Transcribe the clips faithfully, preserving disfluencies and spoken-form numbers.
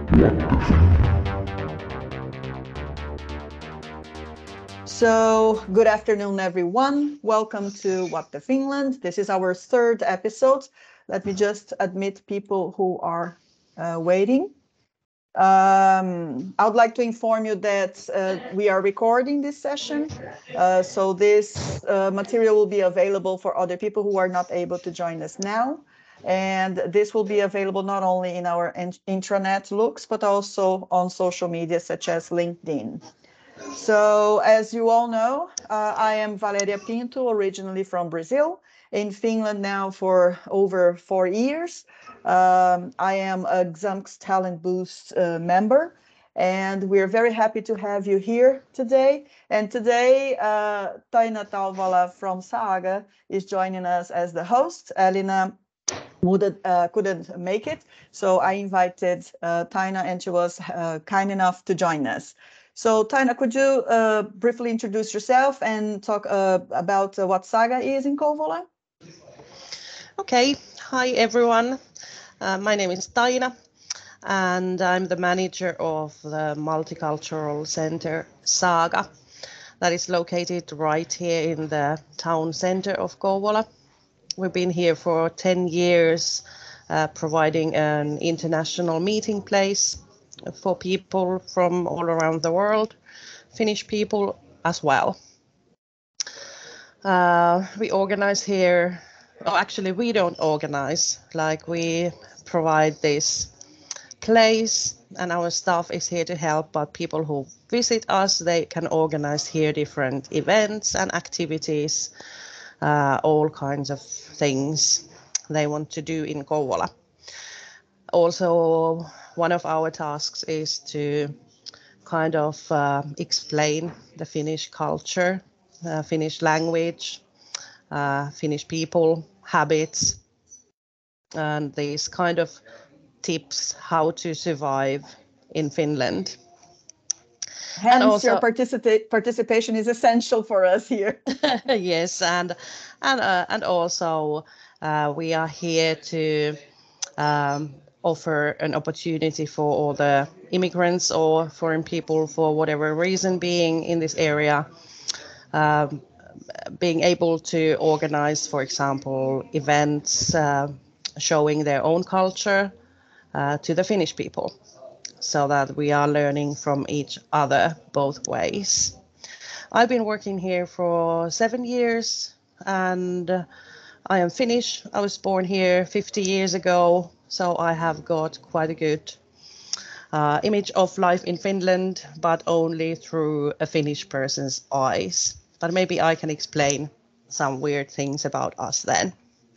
So, good afternoon, everyone. Welcome to What the Finland. This is our third episode. Let me just admit people who are uh, waiting. Um, I would like to inform you that uh, we are recording this session. Uh, so this uh, material will be available for other people who are not able to join us now. And this will be available not only in our intranet looks, but also on social media such as LinkedIn. So, as you all know, uh, I am Valeria Pinto, originally from Brazil, in Finland now for over four years. Um, I am a Xamk's Talent Boost uh, member, and we're very happy to have you here today. And today, uh, Taina Talvala from Saga is joining us as the host. Elina Wouldn't, uh, couldn't make it, so I invited uh, Taina, and she was uh, kind enough to join us. So, Taina, could you uh, briefly introduce yourself and talk uh, about uh, what Saga is in Kouvola? Okay, hi everyone. Uh, my name is Taina, and I'm the manager of the Multicultural Center Saga, that is located right here in the town center of Kouvola. We've been here for ten years, uh, providing an international meeting place for people from all around the world, Finnish people as well. Uh, we organize here, oh, actually we don't organize, like we provide this place and our staff is here to help, but people who visit us, they can organize here different events and activities, uh, all kinds of things they want to do in Kouvola. Also, one of our tasks is to kind of uh, explain the Finnish culture, uh, Finnish language, uh, Finnish people, habits, and these kind of tips how to survive in Finland. Hence, and also, your participa- participation is essential for us here. Yes, and and uh, and also uh, we are here to um, offer an opportunity for all the immigrants or foreign people, for whatever reason, being in this area, um, being able to organize, for example, events uh, showing their own culture uh, to the Finnish people, so that we are learning from each other both ways. I've been working here for seven years and I am Finnish. I was born here fifty years ago, so I have got quite a good uh, image of life in Finland, but only through a Finnish person's eyes. But maybe I can explain some weird things about us then.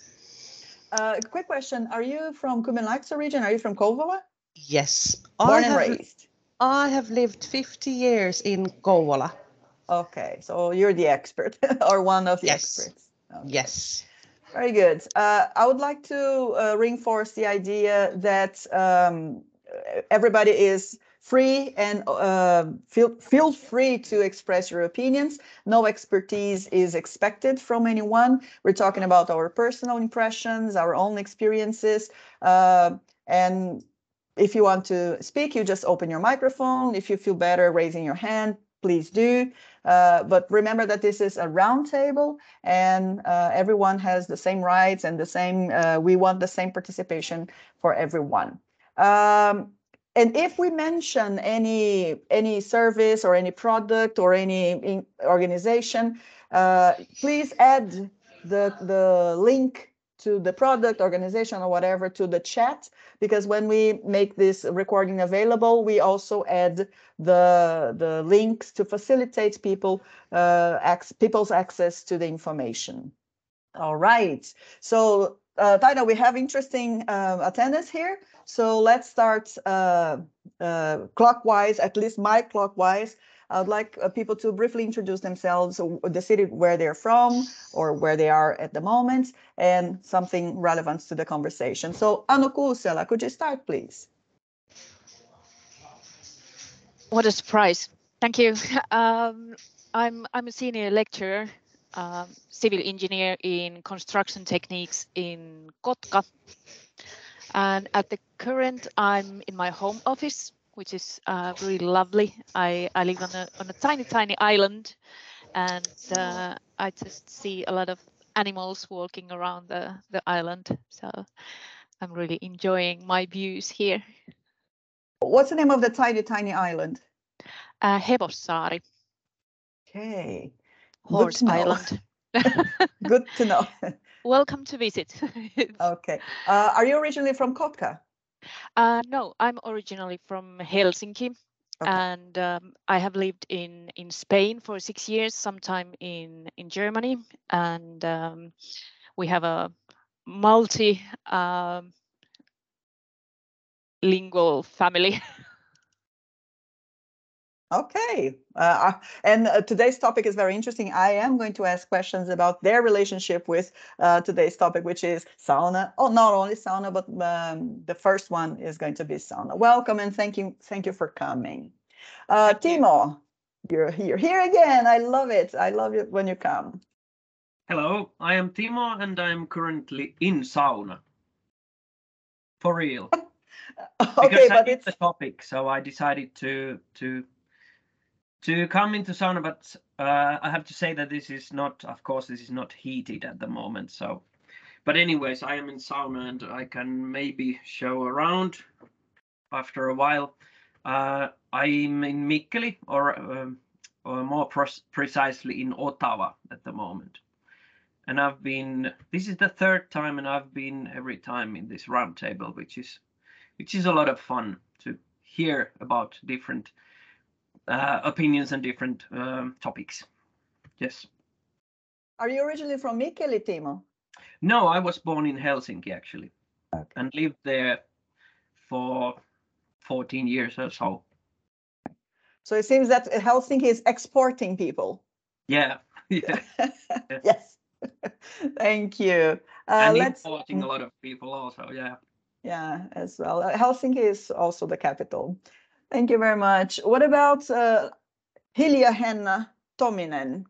Uh, quick question. Are you from Kymenlaakso region? Are you from Kouvola? Yes. Born I and have, raised? I have lived fifty years in Kouvola. Okay, so you're the expert or one of the Yes. experts. Okay. Yes. Very good. Uh, I would like to uh, reinforce the idea that um, everybody is free and uh, feel feel free to express your opinions. No expertise is expected from anyone. We're talking about our personal impressions, our own experiences, uh, and if you want to speak, you just open your microphone. If you feel better raising your hand, please do. Uh, but remember that this is a round table and uh, everyone has the same rights and the same, uh, we want the same participation for everyone. Um, and if we mention any, any service or any product or any organization, uh, please add the, the link to the product, organization, or whatever to the chat, because when we make this recording available, we also add the the links to facilitate people uh, ac- people's access to the information. All right. So, uh, Taina, we have interesting uh, attendance here. So let's start uh, uh, clockwise, at least my clockwise. I would like uh, people to briefly introduce themselves, the city where they're from or where they are at the moment, and something relevant to the conversation. So, Anu Kuusela, could you start, please? What a surprise. Thank you. Um, I'm, I'm a senior lecturer, um, civil engineer in construction techniques in Kotka. And at the current, I'm in my home office, which is uh, really lovely. I, I live on a, on a tiny, tiny island, and uh, I just see a lot of animals walking around the, the island. So I'm really enjoying my views here. What's the name of the tiny, tiny island? Uh, Hevossaari. Okay. Horse Island. Good to know. Welcome to visit. Okay. Uh, are you originally from Kotka? Uh, no, I'm originally from Helsinki. Okay. And um, I have lived in, in Spain for six years, sometime in, in Germany. And um, we have a multi um, lingual family. Okay. Uh, and uh, today's topic is very interesting. I am going to ask questions about their relationship with uh, today's topic, which is sauna. Oh, not only sauna, but um, the first one is going to be sauna. Welcome and thank you. Thank you for coming. Uh, Timo, you. you're here. Here again. I love it. I love it when you come. Hello, I am Timo and I'm currently in sauna. For real. Okay, because but I it's the topic, so I decided to to to come into sauna, but uh, I have to say that this is not, of course, this is not heated at the moment. So, but anyways, I am in sauna and I can maybe show around after a while. Uh, I'm in Mikkeli, or, um, or more precisely in Ottawa at the moment. And I've been, this is the third time, and I've been every time in this roundtable, which is which is a lot of fun to hear about different uh, opinions and different um, topics. Yes. Are you originally from Mikkeli, Timo? No, I was born in Helsinki actually, okay. and lived there for fourteen years or so. So it seems that Helsinki is exporting people. Yeah. yeah. Yes. Thank you. Uh, and let's, importing a lot of people also. Yeah. Yeah, as well. Uh, Helsinki is also the capital. Thank you very much. What about uh, Hilja-Henna Tominen?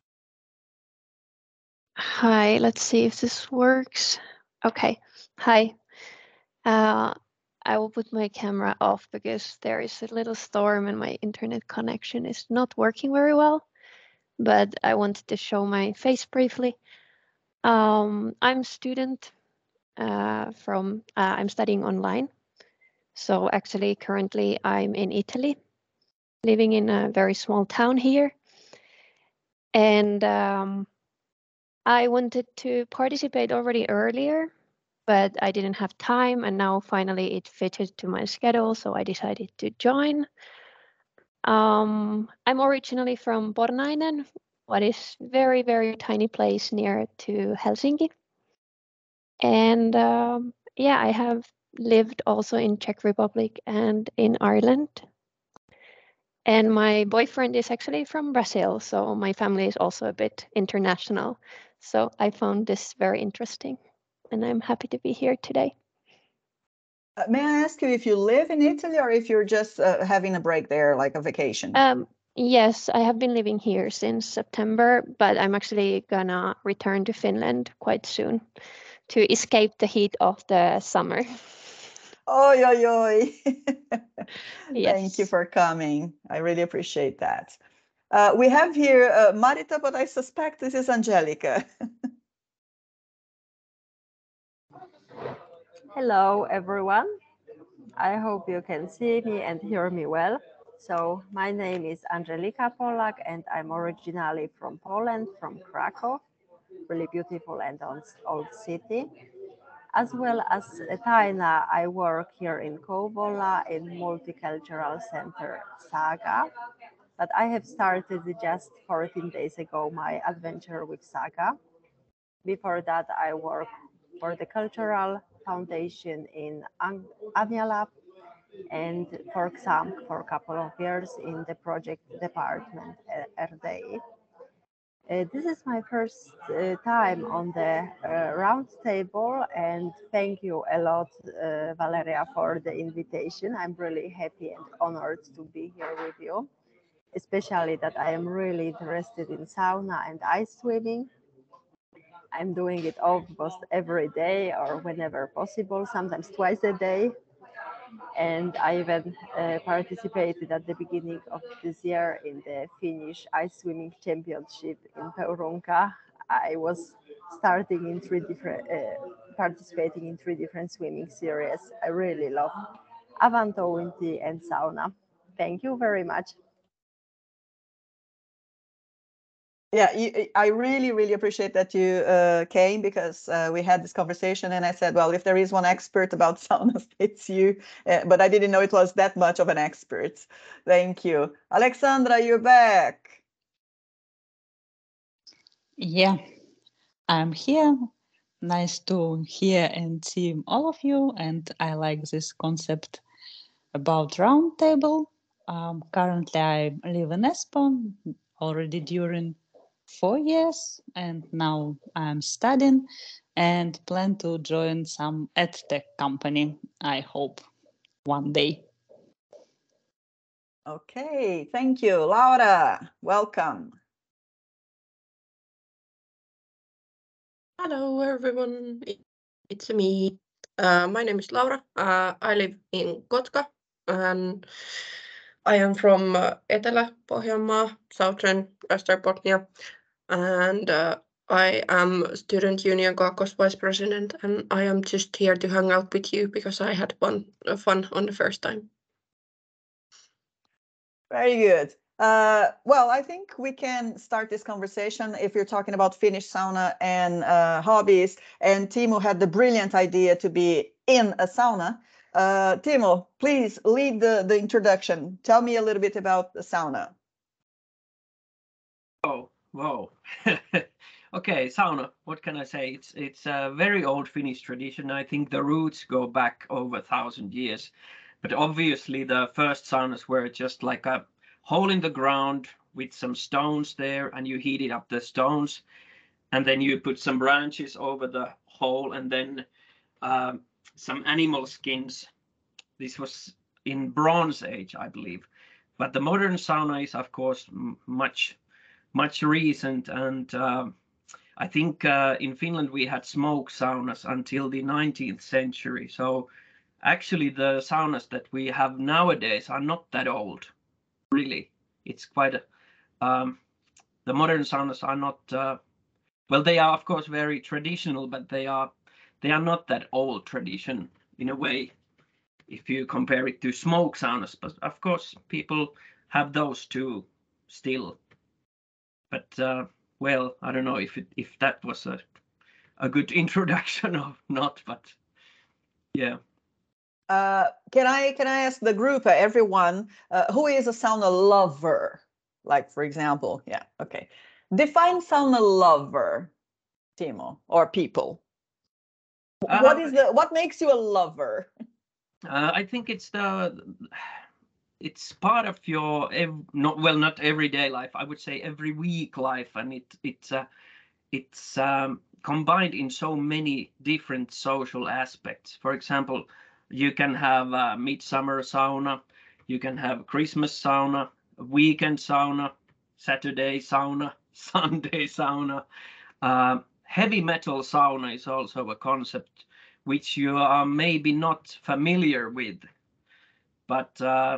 Hi, let's see if this works. Okay, hi. Uh, I will put my camera off because there is a little storm and my internet connection is not working very well, but I wanted to show my face briefly. Um, I'm a student uh, from, uh, I'm studying online. So actually currently I'm in Italy, living in a very small town here. And um, I wanted to participate already earlier, but I didn't have time, and now finally it fitted to my schedule, so I decided to join. Um, I'm originally from Pornainen, what is very, very tiny place near to Helsinki. And um, yeah, I have lived also in Czech Republic and in Ireland. And my boyfriend is actually from Brazil, so my family is also a bit international. So I found this very interesting, and I'm happy to be here today. Uh, may I ask you if you live in Italy or if you're just uh, having a break there, like a vacation? Um, yes, I have been living here since September, but I'm actually gonna return to Finland quite soon to escape the heat of the summer. Oi, oi, oi. Yes. Thank you for coming. I really appreciate that. Uh, we have here uh, Marita, but I suspect this is Angelica. Hello, everyone. I hope you can see me and hear me well. So my name is Angelika Polak, and I'm originally from Poland, from Krakow, really beautiful and old city. As well as Taina, I work here in Kouvola in Multicultural Center Saga. But I have started just fourteen days ago my adventure with Saga. Before that, I worked for the Cultural Foundation in Anjalab and for exam for a couple of years in the project department at R D I. Uh, this is my first uh, time on the uh, round table, and thank you a lot, uh, Valeria, for the invitation. I'm really happy and honored to be here with you, especially that I am really interested in sauna and ice swimming. I'm doing it almost every day or whenever possible, sometimes twice a day. And I even uh, participated at the beginning of this year in the Finnish ice swimming championship in Peurunka. I was starting in three different, uh, participating in three different swimming series. I really love avantouinti and sauna. Thank you very much. Yeah, you, I really, really appreciate that you uh, came, because uh, we had this conversation and I said, well, if there is one expert about saunas, it's you. Uh, but I didn't know it was that much of an expert. Thank you. Alexandra, you're back. Yeah, I'm here. Nice to hear and see all of you. And I like this concept about roundtable. Um, currently, I live in Espoo already during four years, and now I'm studying and plan to join some edtech company, I hope, one day. Okay, thank you. Laura, welcome. Hello, everyone. It's me. Uh, my name is Laura. Uh, I live in Kotka, and I am from uh, Etelä-Pohjanmaa, Southern Österbotten, and uh, I am Student Union Kaakkois Vice President, and I am just here to hang out with you because I had fun, uh, fun on the first time. Very good. Uh, well, I think we can start this conversation if you're talking about Finnish sauna and uh, hobbies. And Timo had the brilliant idea to be in a sauna. Uh, Timo, please lead the, the introduction. Tell me a little bit about the sauna. Oh, whoa. Okay, sauna. What can I say? It's it's a very old Finnish tradition. I think the roots go back over a thousand years. But obviously, the first saunas were just like a hole in the ground with some stones there, and you heated up the stones, and then you put some branches over the hole, and then um, some animal skins. This was in Bronze Age, I believe. But the modern sauna is, of course, m- much much recent, and uh, I think uh, in Finland we had smoke saunas until the nineteenth century. So actually the saunas that we have nowadays are not that old, really. It's quite a, um, the modern saunas are not, uh, well, they are of course very traditional, but they are they are not that old tradition in a way if you compare it to smoke saunas. But of course people have those too still. But uh, well, I don't know if it, if that was a a good introduction or not, but yeah. Uh, can I can I ask the group, uh, everyone, uh, who is a sauna lover? Like, for example, yeah, okay. Define sauna lover, Timo, or people. Uh, What is the what makes you a lover? uh, I think it's the it's part of your ev- not well not everyday life. I would say every week life, and it it's uh, it's um, combined in so many different social aspects. For example, you can have a midsummer sauna, you can have Christmas sauna, weekend sauna, Saturday sauna, Sunday sauna. Uh, heavy metal sauna is also a concept which you are maybe not familiar with, but uh,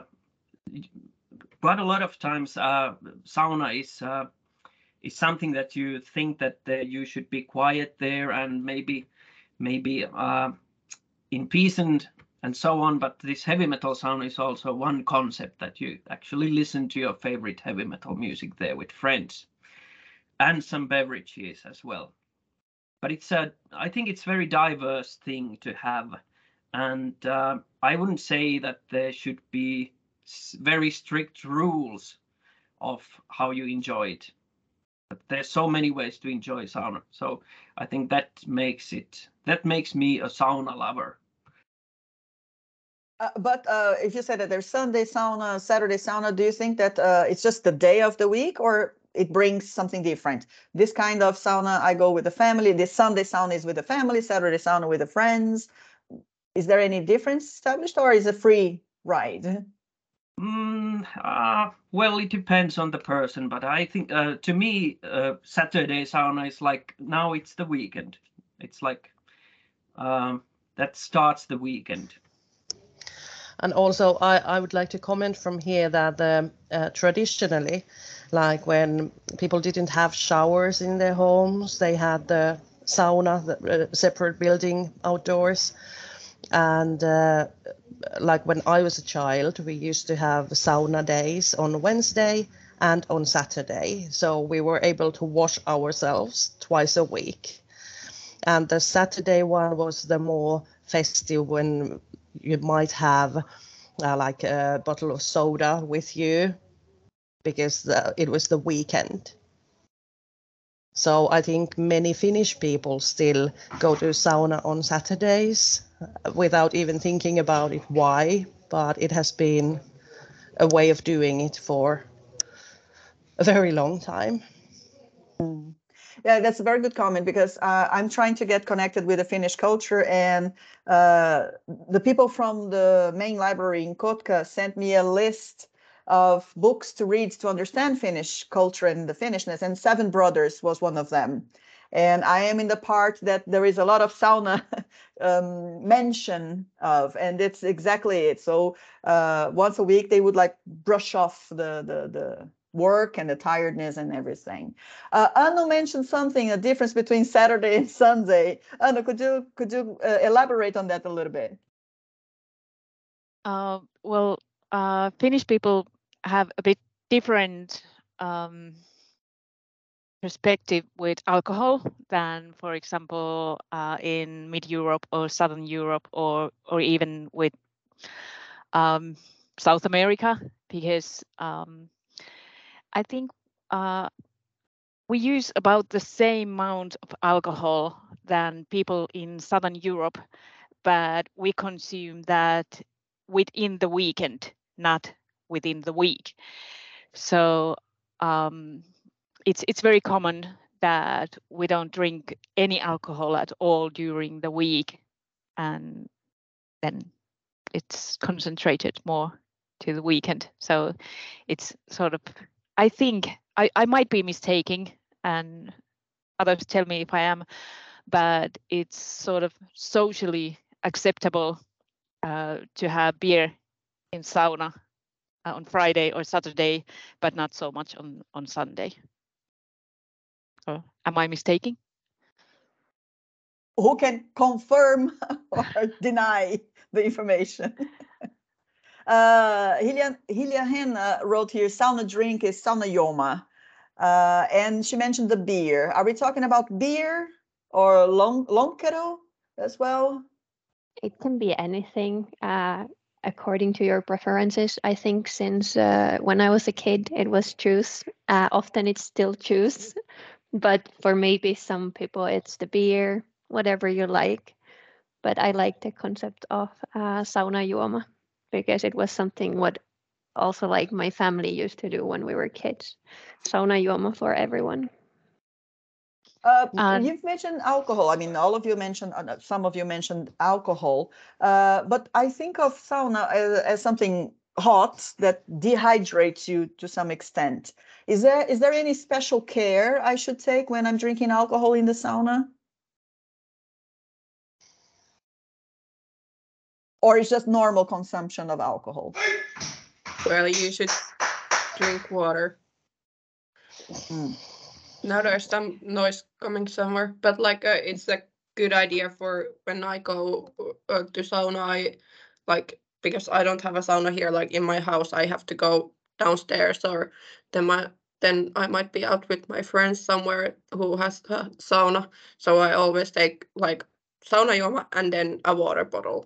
quite a lot of times uh, sauna is uh, is something that you think that uh, you should be quiet there and maybe maybe uh, in peace and and so on. But this heavy metal sauna is also one concept that you actually listen to your favorite heavy metal music there with friends and some beverages as well. But it's a I think it's very diverse thing to have, and uh, I wouldn't say that there should be very strict rules of how you enjoy it. But there's so many ways to enjoy sauna. So I think that makes it that makes me a sauna lover. Uh, but uh, if you said that there's Sunday sauna, Saturday sauna, do you think that uh, it's just the day of the week, or it brings something different? This kind of sauna, I go with the family. This Sunday sauna is with the family, Saturday sauna with the friends. Is there any difference established, or is it a free ride? Mm, uh, well, it depends on the person, but I think uh, to me, uh, Saturday sauna is like now it's the weekend. It's like um, that starts the weekend. And also, I, I would like to comment from here that um, uh, traditionally, like when people didn't have showers in their homes, they had the sauna, the uh, separate building outdoors. And uh, like when I was a child, we used to have sauna days on Wednesday and on Saturday. So we were able to wash ourselves twice a week. And the Saturday one was the more festive, when you might have uh, like a bottle of soda with you because the, it was the weekend. So I think many Finnish people still go to sauna on Saturdays without even thinking about it why, but it has been a way of doing it for a very long time. Mm. Yeah, that's a very good comment, because uh, I'm trying to get connected with the Finnish culture, and uh, the people from the main library in Kotka sent me a list of books to read to understand Finnish culture and the Finnishness, and Seven Brothers was one of them. And I am in the part that there is a lot of sauna um, mention of, and it's exactly it. So uh, once a week they would like brush off the the the work and the tiredness and everything. Uh, Anu mentioned something, a difference between Saturday and Sunday. Anu, could you could you uh, elaborate on that a little bit? Uh, well, uh, Finnish people have a bit different um, perspective with alcohol than, for example, uh, in Mid-Europe or Southern Europe, or or even with um, South America, because um, I think uh, we use about the same amount of alcohol than people in Southern Europe, but we consume that within the weekend, not within the week. So um, it's it's very common that we don't drink any alcohol at all during the week, and then it's concentrated more to the weekend. So it's sort of, I think I, I might be mistaken, and others tell me if I am, but it's sort of socially acceptable uh, to have beer in sauna uh, on Friday or Saturday, but not so much on, on Sunday. So am I mistaken? Who can confirm or deny the information? uh, Hilja, Hilja Henna wrote here, sauna drink is sauna juoma. Uh, and she mentioned the beer. Are we talking about beer or long, lonkero as well? It can be anything uh, according to your preferences. I think since uh, when I was a kid, it was juice. Uh, often it's still juice, but for maybe some people, it's the beer, whatever you like. But I like the concept of uh, sauna juoma, because it was something what also like my family used to do when we were kids. Sauna juoma for everyone. Uh, Um, you've mentioned alcohol. I mean, all of you mentioned, uh, some of you mentioned alcohol, uh, but I think of sauna as, as something hot that dehydrates you to some extent. Is there is there any special care I should take when I'm drinking alcohol in the sauna? Or is just normal consumption of alcohol? Well, you should drink water. Mm. Now there's some noise coming somewhere, but like uh, it's a good idea for when I go uh, to sauna. I like, because I don't have a sauna here, like in my house. I have to go downstairs, or then my then I might be out with my friends somewhere who has a sauna. So I always take like sauna juoma and then a water bottle.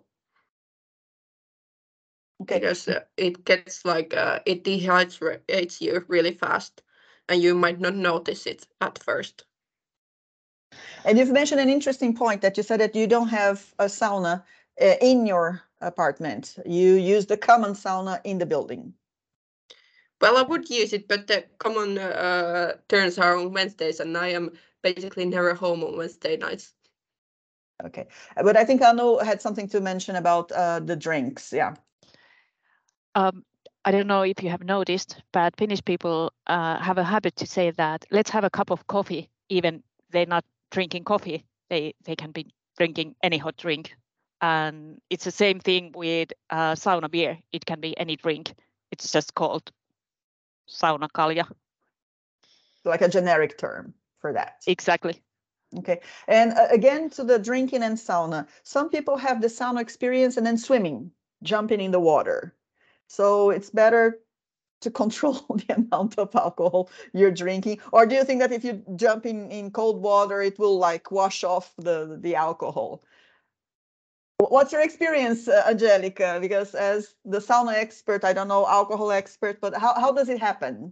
Okay. Because uh, it gets like uh, it dehydrates you really fast, and you might not notice it at first. And you've mentioned an interesting point, that you said that you don't have a sauna uh, in your apartment. You use the common sauna in the building. Well, I would use it, but the common uh, turns are on Wednesdays, and I am basically never home on Wednesday nights. Okay, but I think Anu had something to mention about uh, the drinks. Yeah. Um, I don't know if you have noticed, but Finnish people uh, have a habit to say that let's have a cup of coffee, even they're not drinking coffee. They they can be drinking any hot drink. And it's the same thing with uh, sauna beer. It can be any drink. It's just called sauna kalja. Like a generic term for that. Exactly. Okay. And uh, again, to the drinking and sauna. Some people have the sauna experience and then swimming, jumping in the water. So it's better to control the amount of alcohol you're drinking. Or do you think that if you jump in, in cold water, it will like wash off the, the alcohol? What's your experience, uh, Angelica? Because as the sauna expert, I don't know, alcohol expert, but how, how does it happen?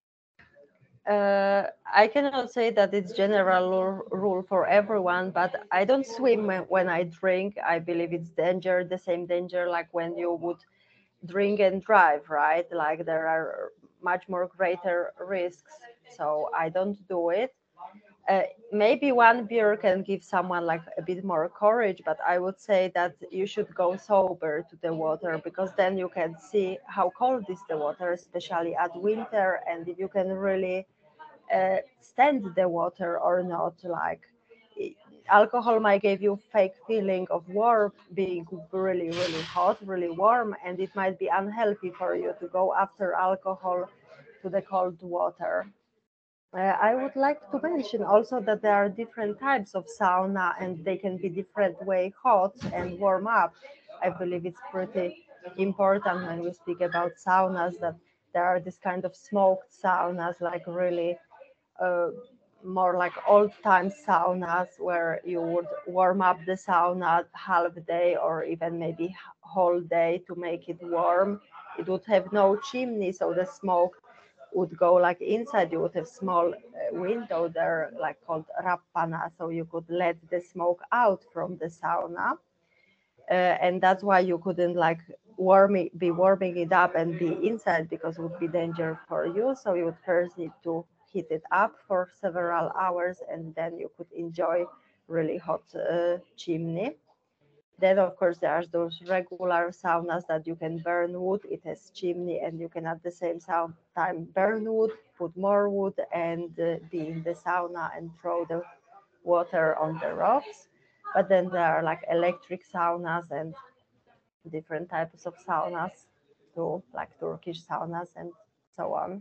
Uh, I cannot say that it's general rule for everyone, but I don't swim when I drink. I believe it's danger, the same danger like when you would drink and drive, right? Like there are much more greater risks. So I don't do it. Uh, maybe one beer can give someone like a bit more courage, but I would say that you should go sober to the water, because then you can see how cold is the water, especially at winter, and if you can really uh, stand the water or not. Like alcohol might give you fake feeling of warm, being really, really hot, really warm, and it might be unhealthy for you to go after alcohol to the cold water. Uh, I would like to mention also that there are different types of sauna and they can be different way hot and warm up. I believe it's pretty important when we speak about saunas that there are this kind of smoked saunas, like really uh, more like old time saunas where you would warm up the sauna half day or even maybe whole day to make it warm. It would have no chimney, so the smoke would go like inside. You would have small uh, window there, like called rappana, so you could let the smoke out from the sauna. Uh, and that's why you couldn't like warm it, be warming it up and be inside, because it would be danger for you. So you would first need to heat it up for several hours, and then you could enjoy really hot uh, chimney. Then, of course, there are those regular saunas that you can burn wood. It has chimney, and you can at the same time burn wood, put more wood, and uh, be in the sauna and throw the water on the rocks. But then there are like electric saunas and different types of saunas too, like Turkish saunas and so on.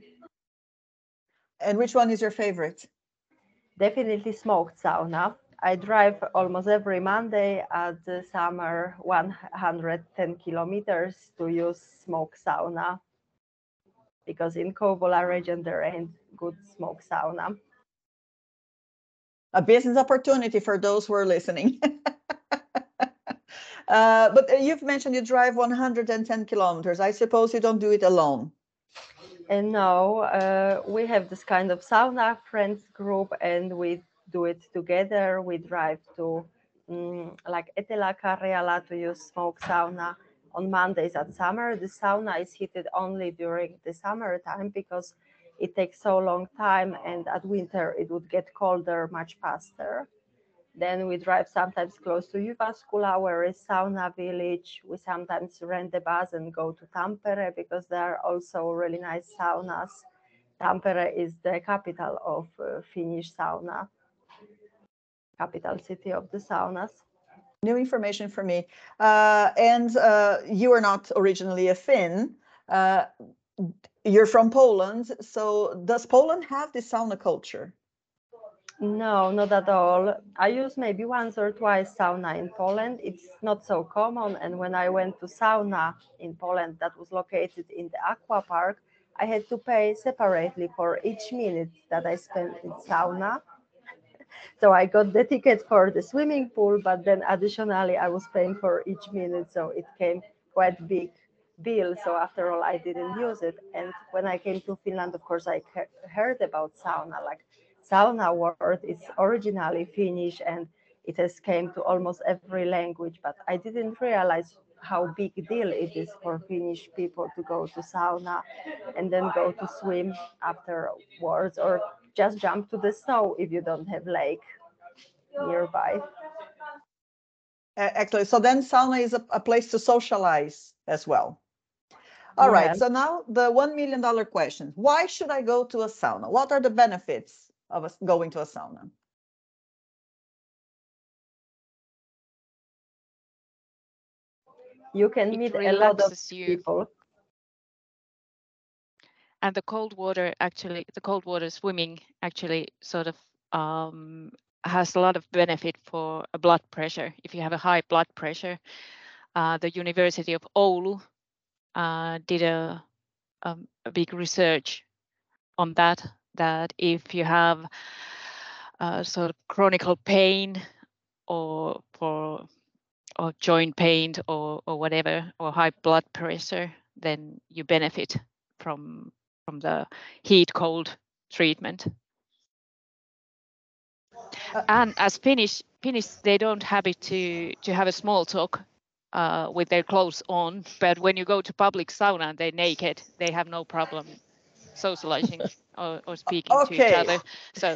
And which one is your favorite? Definitely smoked sauna. I drive almost every Monday at the summer one hundred ten kilometers to use smoke sauna, because in Kouvola region there ain't good smoke sauna. A business opportunity for those who are listening. uh, but you've mentioned you drive one hundred ten kilometers. I suppose you don't do it alone. And no, uh, we have this kind of sauna friends group, and we do it together. We drive to um, like Etelä-Karjala to use smoke sauna on Mondays at summer. The sauna is heated only during the summertime because it takes so long time, and at winter it would get colder much faster. Then we drive sometimes close to Jyväskylä, where is sauna village. We sometimes rent a bus and go to Tampere because there are also really nice saunas. Tampere is the capital of uh, Finnish sauna, capital city of the saunas. New information for me. Uh, and uh, you are not originally a Finn. Uh, you're from Poland. So does Poland have this sauna culture? No, not at all. I use maybe once or twice sauna in Poland. It's not so common. And when I went to sauna in Poland that was located in the aqua park, I had to pay separately for each minute that I spent in sauna. So I got the ticket for the swimming pool, but then additionally I was paying for each minute. So it came quite big bill. So after all, I didn't use it. And when I came to Finland, of course, I heard about sauna. Like sauna word is originally Finnish and it has came to almost every language, but I didn't realize how big deal it is for Finnish people to go to sauna and then go to swim afterwards, or just jump to the snow if you don't have lake nearby. Actually, so then sauna is a, a place to socialize as well. All You right. have- So now the one million dollar question: why should I go to a sauna? What are the benefits of us going to a sauna? You can It meet a lot of relaxes you. people. And the cold water actually, the cold water swimming actually sort of um, has a lot of benefit for a blood pressure. If you have a high blood pressure, uh, the University of Oulu uh, did a, um, a big research on that, that if you have uh, sort of chronic pain or for or joint pain or, or whatever, or high blood pressure, then you benefit from from the heat cold treatment. Uh, And as Finnish Finnish, they don't have it to to have a small talk uh, with their clothes on, but when you go to public sauna and they're naked, they have no problem socializing or, or speaking to each Okay. other. So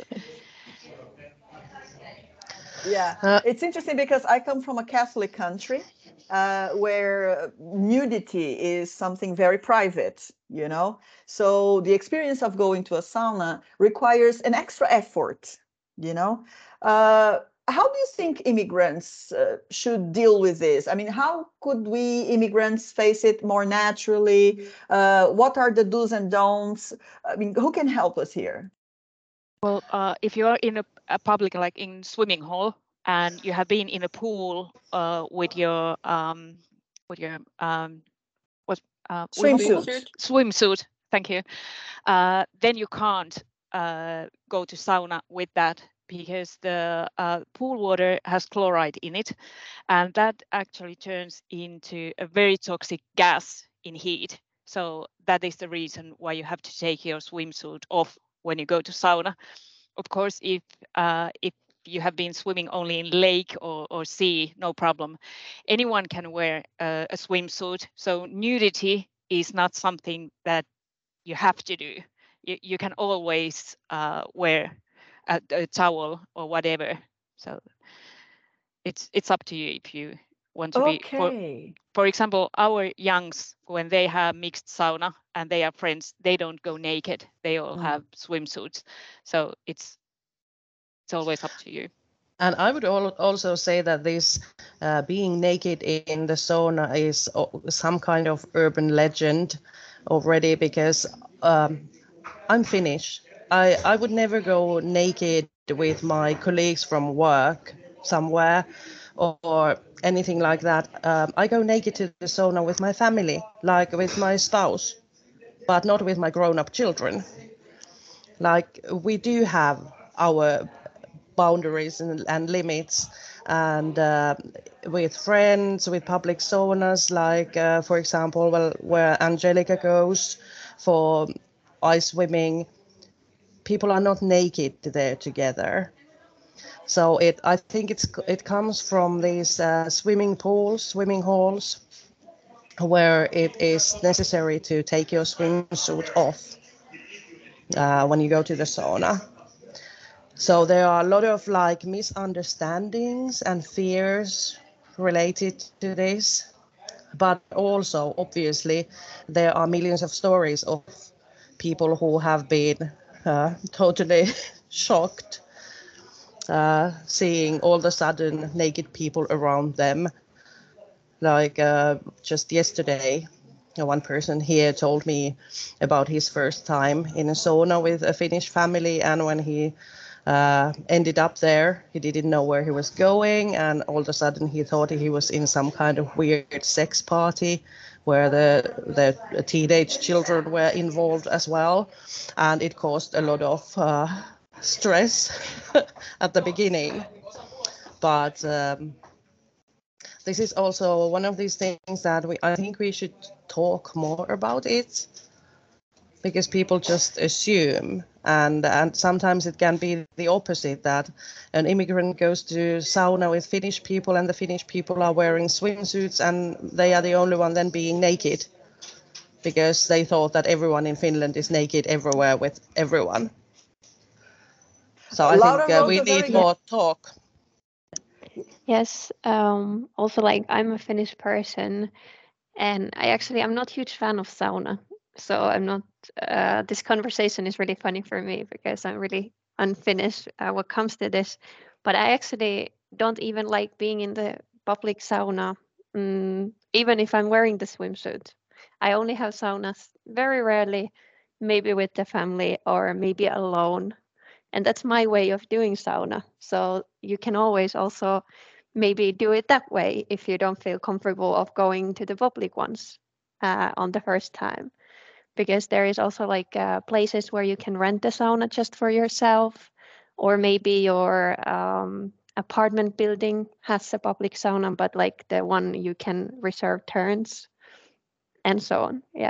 Yeah, Uh, it's interesting because I come from a Catholic country uh, where nudity is something very private, you know. So the experience of going to a sauna requires an extra effort, you know. Uh, how do you think immigrants uh, should deal with this? I mean, how could we immigrants face it more naturally? Uh, what are the do's and don'ts? I mean, who can help us here? well, uh, if you are in a, a public, like in swimming hall, and you have been in a pool uh, with your um, with your um, what uh, Swimsuit. Swimsuit. swimsuit, thank you, uh, then you can't uh, go to sauna with that, because the uh, pool water has chloride in it, and that actually turns into a very toxic gas in heat. So that is the reason why you have to take your swimsuit off when you go to sauna. Of course, if uh, if you have been swimming only in lake or, or sea, no problem. Anyone can wear a, a swimsuit. So nudity is not something that you have to do. You, you can always uh, wear a, a towel or whatever. So it's it's up to you if you want to be. For, Okay. for example, our youngs, when they have mixed sauna and they are friends, they don't go naked. They all Mm. have swimsuits. So it's it's always up to you. And I would al- also say that this uh, being naked in the sauna is o- some kind of urban legend already, because um, I'm Finnish. I, I would never go naked with my colleagues from work somewhere or, or anything like that. Um, I go naked to the sauna with my family, like with my spouse, but not with my grown-up children. Like, we do have our boundaries and, and limits, and uh, with friends, with public saunas, like uh, for example, well, where Angelica goes for ice swimming, people are not naked there together. So it, I think it's it comes from these uh, swimming pools, swimming halls, where it is necessary to take your swimsuit off uh, when you go to the sauna. So there are a lot of like misunderstandings and fears related to this, but also obviously there are millions of stories of people who have been uh, totally shocked uh, seeing all of a sudden naked people around them. Like uh, just yesterday, one person here told me about his first time in a sauna with a Finnish family, and when he uh, ended up there, he didn't know where he was going, and all of a sudden he thought he was in some kind of weird sex party where the the teenage children were involved as well, and it caused a lot of uh, stress at the beginning. But um, this is also one of these things that we I think we should talk more about it, because people just assume, and and sometimes it can be the opposite, that an immigrant goes to sauna with Finnish people and the Finnish people are wearing swimsuits and they are the only one then being naked, because they thought that everyone in Finland is naked everywhere with everyone. So I think Laura uh, wrote we a very need good more talk. Yes. Um, also, like I'm a Finnish person, And I actually, I'm not a huge fan of sauna. So I'm not, uh, this conversation is really funny for me because I'm really unfinished uh, what comes to this. But I actually don't even like being in the public sauna, mm, even if I'm wearing the swimsuit. I only have saunas very rarely, maybe with the family or maybe alone. And that's my way of doing sauna. So you can always also maybe do it that way if you don't feel comfortable of going to the public ones uh, on the first time, because there is also like uh, places where you can rent the sauna just for yourself, or maybe your um, apartment building has a public sauna, but like the one you can reserve turns and so on. Yeah.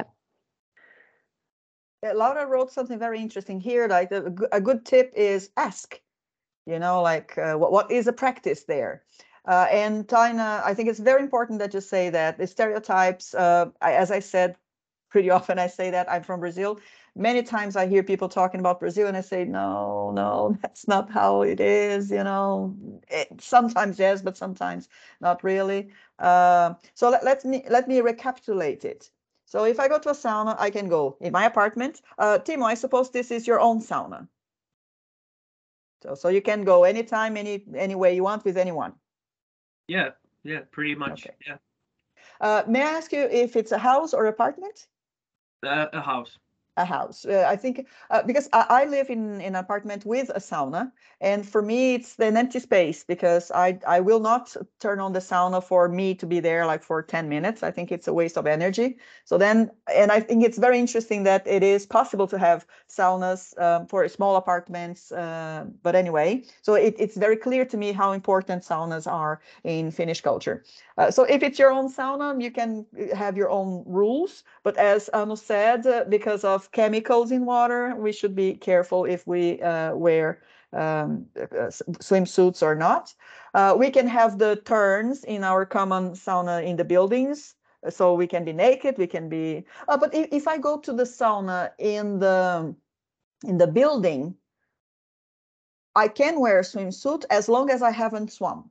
Yeah, Laura wrote something very interesting here. Like a, g- a good tip is ask, you know, like uh, what, what is a practice there? Uh, and Taina, I think it's very important that you say that the stereotypes, uh, I, as I said, pretty often I say that I'm from Brazil. Many times I hear people talking about Brazil and I say, no, no, that's not how it is, you know. It, sometimes yes, but sometimes not really. Uh, so let, let me let me recapitulate it. So if I go to a sauna, I can go in my apartment. Uh, Timo, I suppose this is your own sauna. So, so you can go anytime, any any way you want with anyone. Yeah, yeah, pretty much. Okay. Yeah, Uh, may I ask you if it's a house or apartment? uh, a house. A house. Uh, I think uh, because I, I live in, in an apartment with a sauna, and for me it's an empty space because I I will not turn on the sauna for me to be there like for ten minutes. I think it's a waste of energy. So then, and I think it's very interesting that it is possible to have saunas um, for small apartments. Uh, but anyway, so it, it's very clear to me how important saunas are in Finnish culture. Uh, so if it's your own sauna, you can have your own rules. But as Anu said, uh, because of chemicals in water, we should be careful if we uh, wear um, uh, swimsuits or not. Uh, we can have the turns in our common sauna in the buildings. So we can be naked, we can be, uh, but if, if I go to the sauna in the, in the building, I can wear a swimsuit as long as I haven't swum.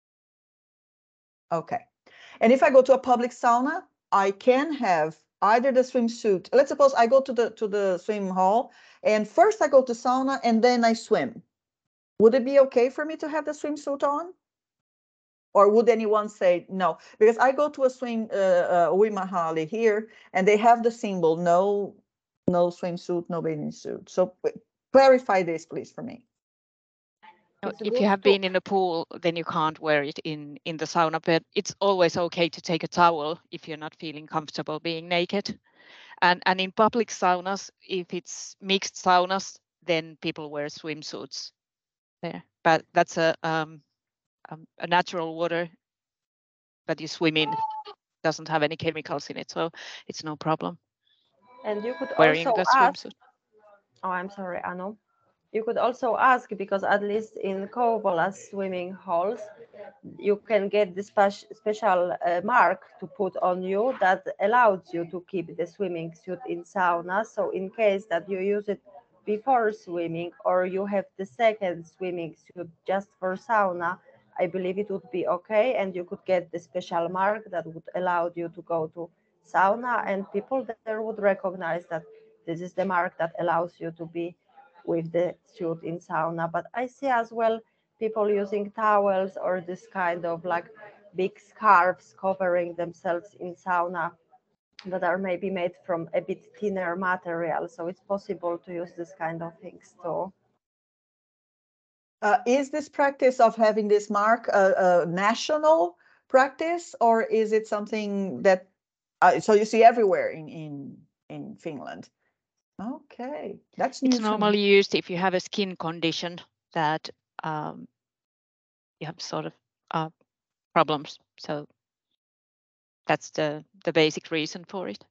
Okay. And if I go to a public sauna, I can have either the swimsuit. Let's suppose I go to the to the swim hall and first I go to sauna and then I swim. Would it be okay for me to have the swimsuit on? Or would anyone say no? Because I go to a swim uh, uh, Uimahali here and they have the symbol no no swimsuit, no bathing suit. So clarify this, please, for me. No, It's a if good you have to- been in a pool, then you can't wear it in in the sauna. But it's always okay to take a towel if you're not feeling comfortable being naked. And and in public saunas, if it's mixed saunas, then people wear swimsuits there. But that's a um, um, a natural water that you swim in. Doesn't have any chemicals in it, so it's no problem And you could wearing also the ask, swimsuit. oh, I'm sorry, Anu. You could also ask, because at least in Kouvola swimming halls, you can get the spe- special uh, mark to put on you that allows you to keep the swimming suit in sauna. So in case that you use it before swimming or you have the second swimming suit just for sauna, I believe it would be okay, and you could get the special mark that would allow you to go to sauna, and people there would recognize that this is the mark that allows you to be with the suit in sauna. But I see as well people using towels or this kind of like big scarves covering themselves in sauna that are maybe made from a bit thinner material. So it's possible to use this kind of things too. Uh, is this practice of having this mark a, a national practice, or is it something that uh, so you see everywhere in in in Finland? Okay, that's new It's for me. normally used if you have a skin condition that um, you have sort of uh, problems. So that's the the basic reason for it.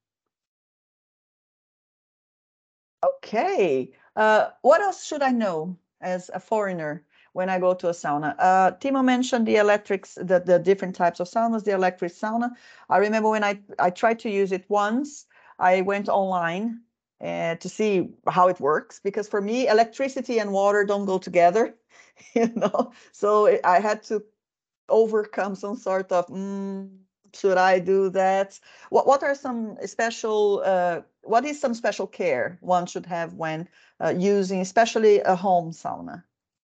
Okay, uh, what else should I know as a foreigner when I go to a sauna? Uh, Timo mentioned the electrics, the, the different types of saunas, the electric sauna. I remember when I, I tried to use it once, I went online uh, to see how it works, because for me, electricity and water don't go together, you know? So I had to overcome some sort of mm, should I do that? What What are some special? Uh, what is some special care one should have when uh, using, especially a home sauna?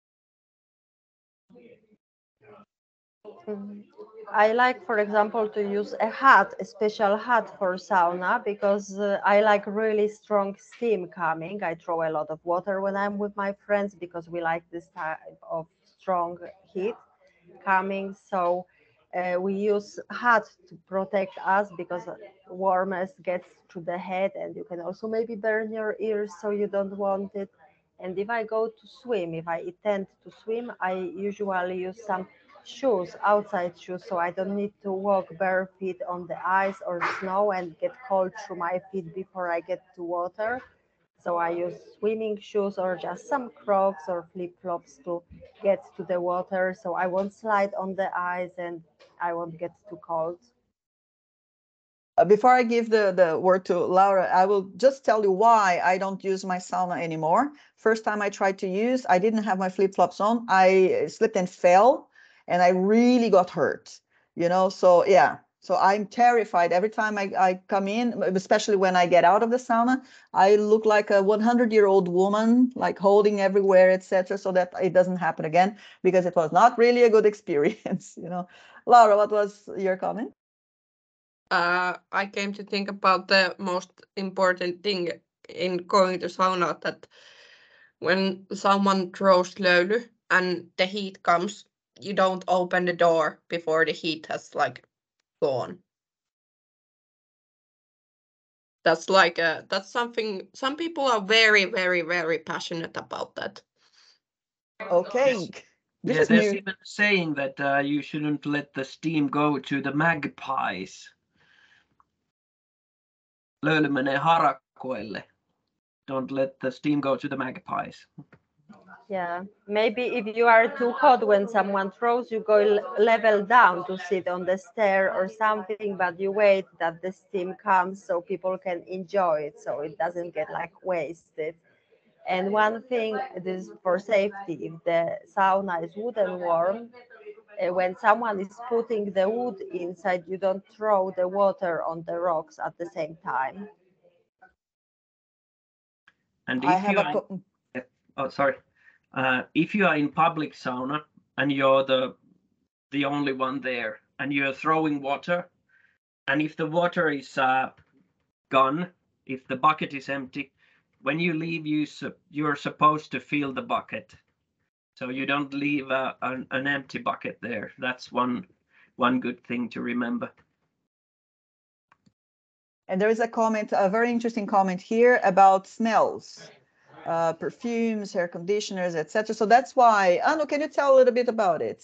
Mm, I like, for example, to use a hat, a special hat for sauna, because uh, I like really strong steam coming. I throw a lot of water when I'm with my friends because we like this type of strong heat coming. So uh, we use hat to protect us because warmth gets to the head, and you can also maybe burn your ears, so you don't want it. And if I go to swim, if I intend to swim, I usually use some shoes, outside shoes, so I don't need to walk bare feet on the ice or snow and get cold through my feet before I get to water. So I use swimming shoes or just some Crocs or flip-flops to get to the water, so I won't slide on the ice and I won't get too cold. Uh, Before I give the, the word to Laura, I will just tell you why I don't use my sauna anymore. First time I tried to use, I didn't have my flip-flops on. I slipped and fell, and I really got hurt, you know? So yeah, so I'm terrified every time I, I come in, especially when I get out of the sauna. I look like a hundred-year-old woman, like holding everywhere, et cetera, so that it doesn't happen again, because it was not really a good experience, you know? Laura, what was your comment? Uh, I came to think about the most important thing in going to sauna, that when someone throws löyly and the heat comes, you don't open the door before the heat has like gone. That's like a, that's something, some people are very, very, very passionate about that. Okay, Yes. this Yeah, is there's new. even a saying that uh, you shouldn't let the steam go to the magpies. Löyly menee harakoille. Don't let the steam go to the magpies. Yeah, maybe if you are too hot when someone throws, you go l- level down to sit on the stair or something, but you wait that the steam comes so people can enjoy it, so it doesn't get like wasted. And one thing, this is for safety, if the sauna is wooden warm, uh, when someone is putting the wood inside, you don't throw the water on the rocks at the same time. And I if have you a are, co- oh sorry, uh, if you are in public sauna and you're the the only one there and you're throwing water, and if the water is uh, gone, if the bucket is empty, when you leave, you su- you're supposed to fill the bucket, so you don't leave a, an, an empty bucket there. That's one one good thing to remember. And there is a comment, a very interesting comment here about smells, uh, perfumes, hair conditioners, et cetera. So that's why, Anu, can you tell a little bit about it?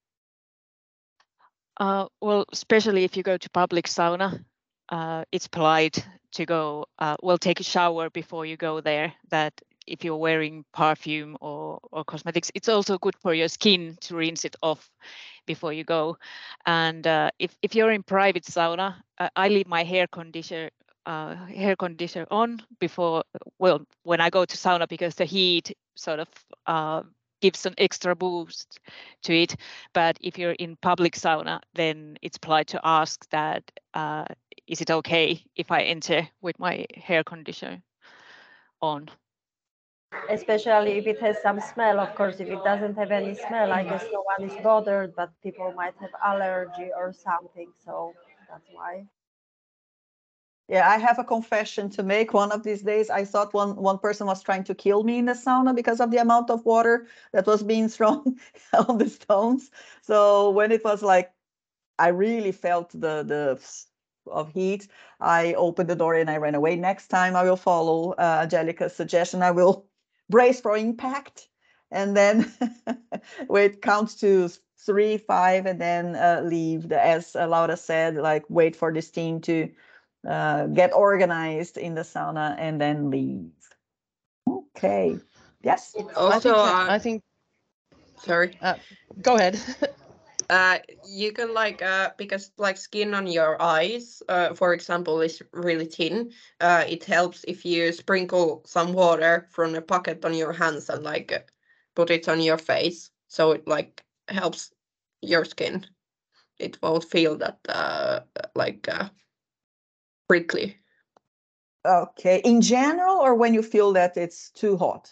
Uh, well, especially if you go to public sauna, uh, it's polite to go, uh, well, take a shower before you go there. That if you're wearing perfume or, or cosmetics, it's also good for your skin to rinse it off before you go. And uh, if, if you're in private sauna, uh, I leave my hair conditioner uh, hair conditioner on before, well, when I go to sauna, because the heat sort of uh, gives an extra boost to it. But if you're in public sauna, then it's polite to ask that, uh, is it okay if I enter with my hair conditioner on? Especially if it has some smell, of course. If it doesn't have any smell, I guess no one is bothered, but people might have allergy or something, so that's why. Yeah, I have a confession to make. One of these days, I thought one, one person was trying to kill me in the sauna because of the amount of water that was being thrown on the stones. So when it was like, I really felt the, the of heat, I opened the door and I ran away. Next time I will follow uh, Angelica's suggestion. I will brace for impact and then wait, count to three, five, and then uh, leave. The, as Laura said, like wait for the steam to uh, get organized in the sauna and then leave. Okay. Yes. Also, I think, uh, I think sorry. uh, go ahead. Uh, you can like uh because like skin on your eyes, uh, for example, is really thin. Uh, it helps if you sprinkle some water from a bucket on your hands and like uh, put it on your face, so it like helps your skin. it won't feel that uh, like uh, prickly. Okay, in general, or when you feel that it's too hot?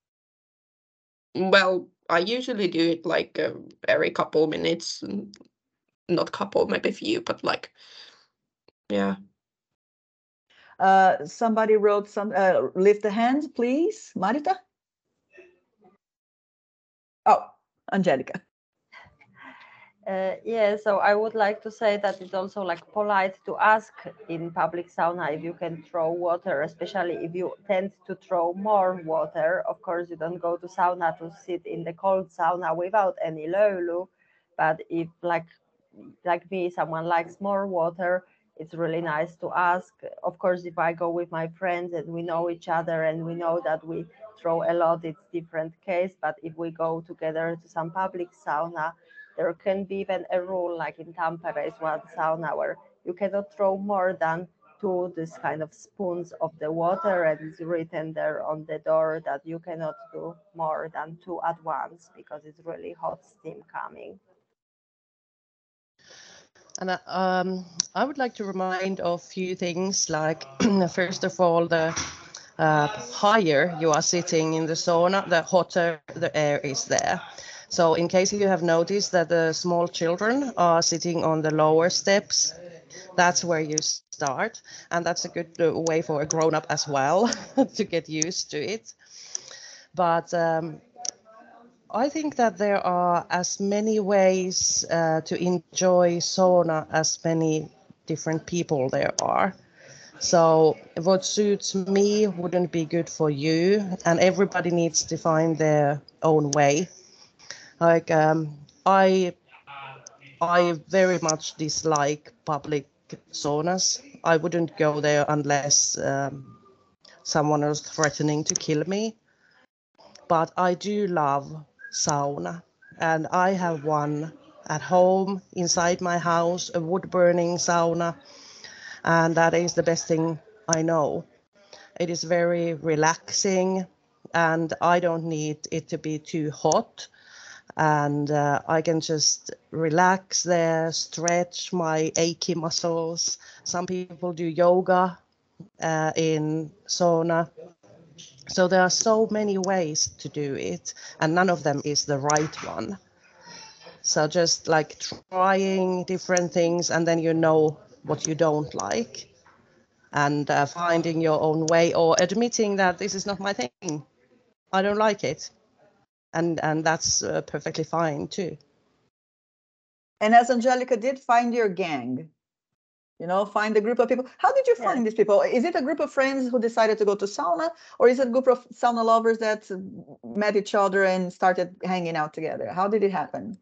Well, I usually do it like uh, every couple minutes, not couple, maybe few, but like, yeah. Uh, somebody wrote some, uh, lift the hand, please, Marita. Oh, Angelica. Uh, yeah, so I would like to say that it's also like polite to ask in public sauna if you can throw water, especially if you tend to throw more water. Of course, you don't go to sauna to sit in the cold sauna without any löyly, but if like like me, someone likes more water, it's really nice to ask. Of course, if I go with my friends and we know each other and we know that we throw a lot, it's different case. But if we go together to some public sauna, there can be even a rule, like in Tampere is one sauna where you cannot throw more than two this kind of spoons of the water, and it's written there on the door that you cannot do more than two at once because it's really hot steam coming. And um, I would like to remind of a few things, like first of all, the uh, higher you are sitting in the sauna, the hotter the air is there. So in case you have noticed that the small children are sitting on the lower steps, that's where you start. And that's a good uh, way for a grown-up as well to get used to it. But um, I think that there are as many ways uh, to enjoy sauna as many different people there are. So what suits me wouldn't be good for you, and everybody needs to find their own way. Like um, I, I very much dislike public saunas. I wouldn't go there unless um, someone was threatening to kill me. But I do love sauna, and I have one at home inside my house, a wood burning sauna, and that is the best thing I know. It is very relaxing, and I don't need it to be too hot, and uh, I can just relax there, stretch my achy muscles. Some people do yoga uh, in sauna. So there are so many ways to do it, and none of them is the right one. So just like trying different things, and then you know what you don't like, and uh, finding your own way, or admitting that this is not my thing. I don't like it, and and that's uh, perfectly fine too. And as Angelica did, find your gang. You know, find a group of people. How did you Yeah. find these people? Is it a group of friends who decided to go to sauna, or is it a group of sauna lovers that met each other and started hanging out together? How did it happen?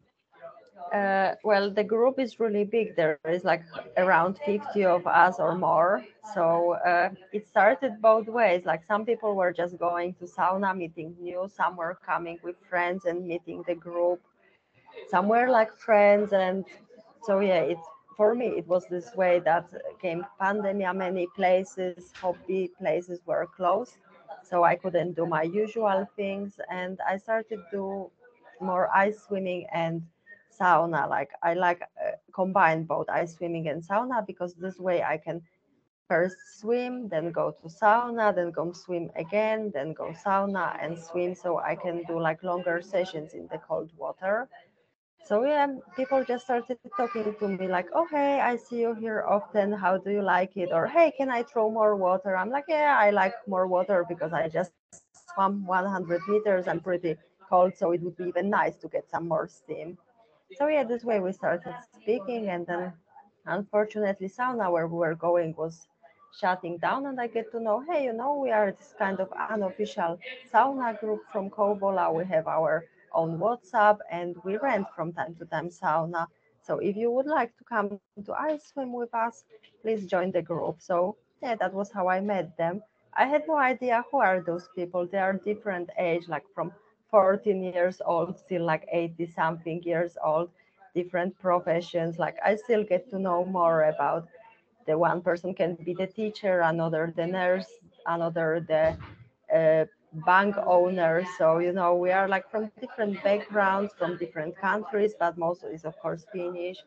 Uh, well, the group is really big. There is like around fifty of us or more. So uh, it started both ways. Like some people were just going to sauna, meeting new, some were coming with friends and meeting the group. Some were like friends. And so, yeah, it's for me, it was this way that came pandemic, many places, hobby places were closed. So I couldn't do my usual things. And I started to more ice swimming and sauna. Like I like uh, combine both ice swimming and sauna because this way I can first swim, then go to sauna, then go swim again, then go sauna and swim. So I can do like longer sessions in the cold water. So yeah, people just started talking to me like, oh hey, I see you here often. How do you like it? Or hey, can I throw more water? I'm like, yeah, I like more water because I just swam one hundred meters. I'm pretty cold, so it would be even nice to get some more steam. So yeah, this way we started speaking, and then unfortunately, sauna where we were going was shutting down, and I get to know, hey, you know, we are this kind of unofficial sauna group from Kouvola. We have our own WhatsApp, and we rent from time to time sauna. So if you would like to come to ice swim with us, please join the group. So yeah, that was how I met them. I had no idea who are those people. They are different age, like from fourteen years old till like eighty something years old, different professions. Like I still get to know more about the one person can be the teacher, another the nurse, another the uh, bank owner. So you know, we are like from different backgrounds, from different countries, but most is of course Finnish.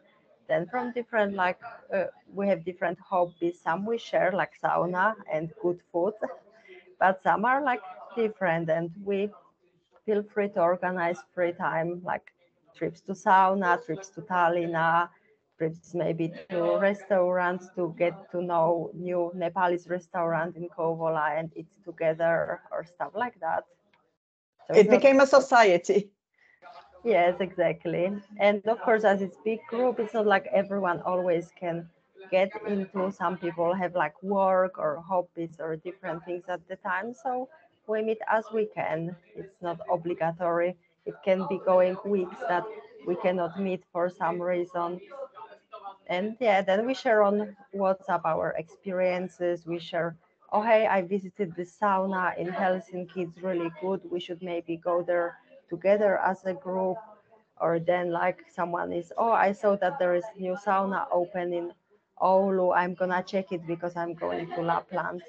Then from different, like uh, we have different hobbies. Some we share, like sauna and good food, but some are like different, and we feel free to organize free time, like trips to sauna, trips to Tallinna, trips maybe to restaurants to get to know new Nepalese restaurant in Kouvola and eat together or stuff like that. So It became a society. Yes, exactly. And of course, as it's big group, it's not like everyone always can get into. Some people have like work or hobbies or different things at the time. So we meet as we can. It's not obligatory. It can be going weeks that we cannot meet for some reason. And yeah, then we share on WhatsApp our experiences. We share, oh, hey, I visited the sauna in Helsinki. It's really good. We should maybe go there together as a group. Or then like someone is, oh, I saw that there is new sauna open in Oulu. I'm gonna check it because I'm going to Lapland.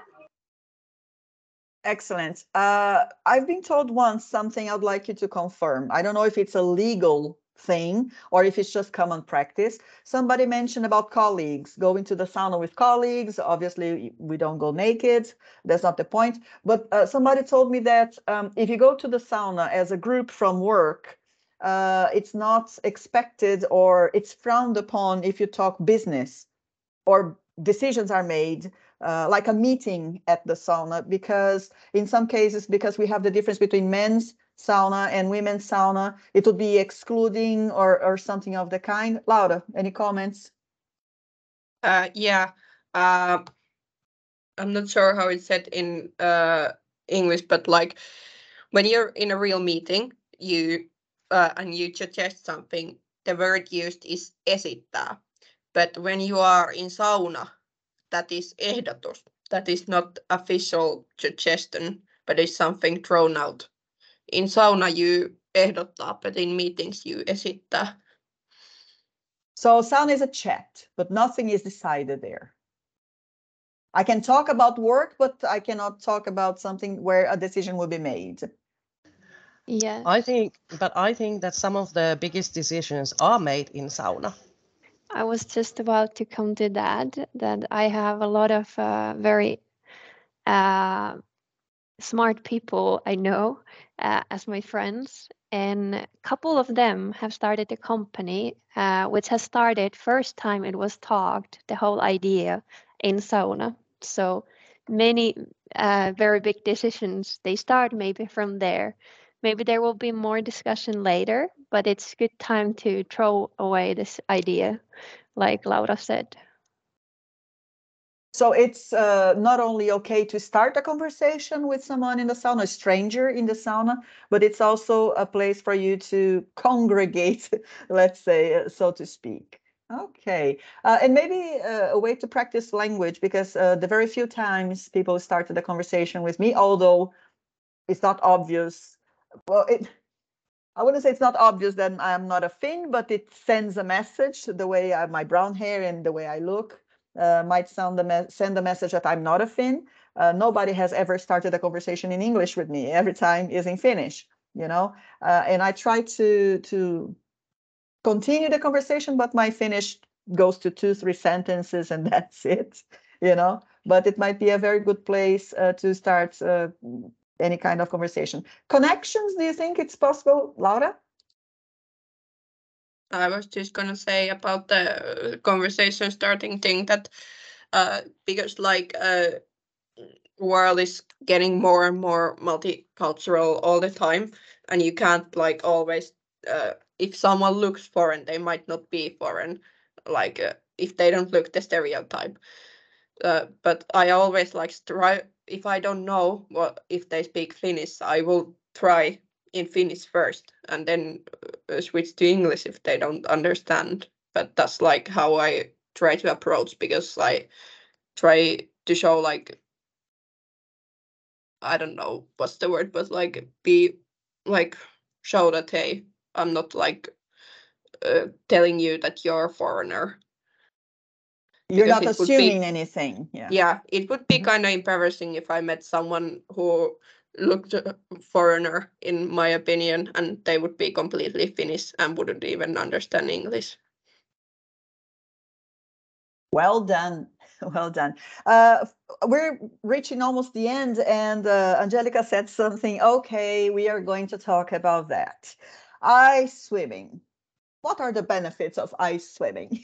Excellent. Uh, I've been told once something I'd like you to confirm. I don't know if it's a legal thing or if it's just common practice. Somebody mentioned about colleagues, going to the sauna with colleagues. Obviously, we don't go naked. That's not the point. But uh, somebody told me that um, if you go to the sauna as a group from work, uh, it's not expected or it's frowned upon if you talk business or decisions are made uh, like a meeting at the sauna, because in some cases, because we have the difference between men's sauna and women's sauna, it would be excluding or, or something of the kind. Laura, any comments? Uh, yeah, uh, I'm not sure how it's said in uh, English, but like when you're in a real meeting, you uh, and you suggest something, the word used is esittää. But when you are in sauna, that is ehdotus. That is not official suggestion, but it's something thrown out. In sauna you ehdottaa, but in meetings you esittää. So sauna is a chat, but nothing is decided there. I can talk about work, but I cannot talk about something where a decision will be made. Yes. I think, but I think that some of the biggest decisions are made in sauna. I was just about to come to that, that I have a lot of uh, very uh, smart people I know uh, as my friends, and a couple of them have started a company uh, which has started first time it was talked, the whole idea in sauna. So many uh, very big decisions, they start maybe from there. Maybe there will be more discussion later, but it's good time to throw away this idea, like Laura said. So it's uh, not only okay to start a conversation with someone in the sauna, a stranger in the sauna, but it's also a place for you to congregate, let's say, uh, so to speak. Okay. Uh, and maybe uh, a way to practice language, because uh, the very few times people started a conversation with me, although it's not obvious, well, it, I wouldn't say it's not obvious that I'm not a Finn, but it sends a message. The way I have my brown hair and the way I look uh, might sound the send the message that I'm not a Finn. Uh, nobody has ever started a conversation in English with me. Every time is in Finnish, you know. Uh, and I try to to continue the conversation, but my Finnish goes to two, three sentences, and that's it, you know. But it might be a very good place uh, to start uh, any kind of conversation. Connections, do you think it's possible, Laura? I was just gonna say about the conversation starting thing that uh, because like uh, world is getting more and more multicultural all the time, and you can't like always uh, if someone looks foreign, they might not be foreign, like uh, if they don't look the stereotype. Uh, but I always like try, if I don't know what if they speak Finnish, I will try in Finnish first and then uh, switch to English if they don't understand. But that's like how I try to approach, because I try to show like, I don't know what's the word, but like be like show that, hey, I'm not like uh, telling you that you're a foreigner. You're Because not it would assuming be, anything. Yeah. yeah, it would be kind of embarrassing if I met someone who looked a foreigner, in my opinion, and they would be completely Finnish and wouldn't even understand English. Well done. Well done. Uh, we're reaching almost the end, and uh, Angelica said something. Okay, we are going to talk about that. Ice swimming. What are the benefits of ice swimming?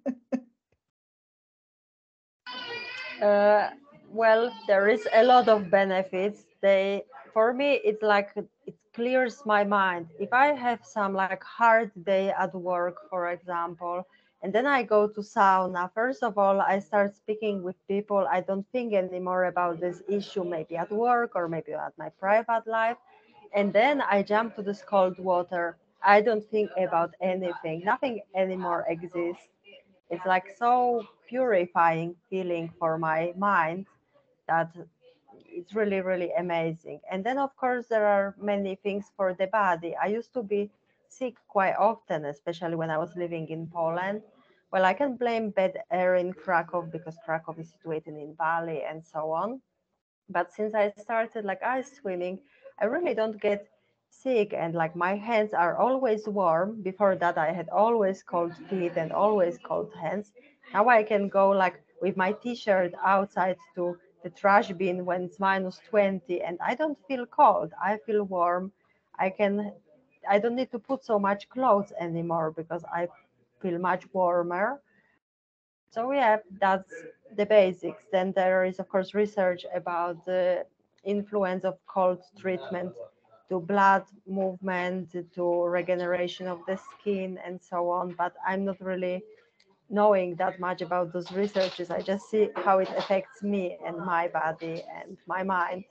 Uh, well, there is a lot of benefits. They, for me, it's like it clears my mind. If I have some like hard day at work, for example, and then I go to sauna, first of all, I start speaking with people. I don't think anymore about this issue, maybe at work or maybe at my private life. And then I jump to this cold water. I don't think about anything. Nothing anymore exists. It's like so purifying feeling for my mind that it's really, really amazing. And then, of course, there are many things for the body. I used to be sick quite often, especially when I was living in Poland. Well, I can blame bad air in Krakow because Krakow is situated in valley and so on. But since I started like ice swimming, I really don't get sick, and like my hands are always warm. Before that, I had always cold feet and always cold hands. Now I can go like with my t-shirt outside to the trash bin when it's minus twenty, and I don't feel cold. I feel warm. I can I don't need to put so much clothes anymore because I feel much warmer. So yeah, that's the basics. Then there is, of course, research about the influence of cold treatment to blood movement, to regeneration of the skin, and so on. But I'm not really knowing that much about those researches. I just see how it affects me and my body and my mind.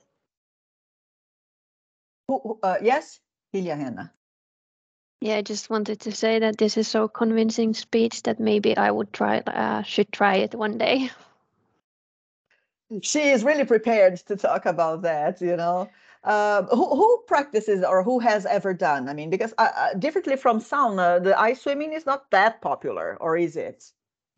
uh, yes, Hilja Henna. Yeah, I just wanted to say that this is so convincing speech that maybe I would try, uh, should try it one day. She is really prepared to talk about that, you know. Uh, who, who practices or who has ever done? I mean, because uh, uh, differently from sauna, the ice swimming is not that popular, or is it?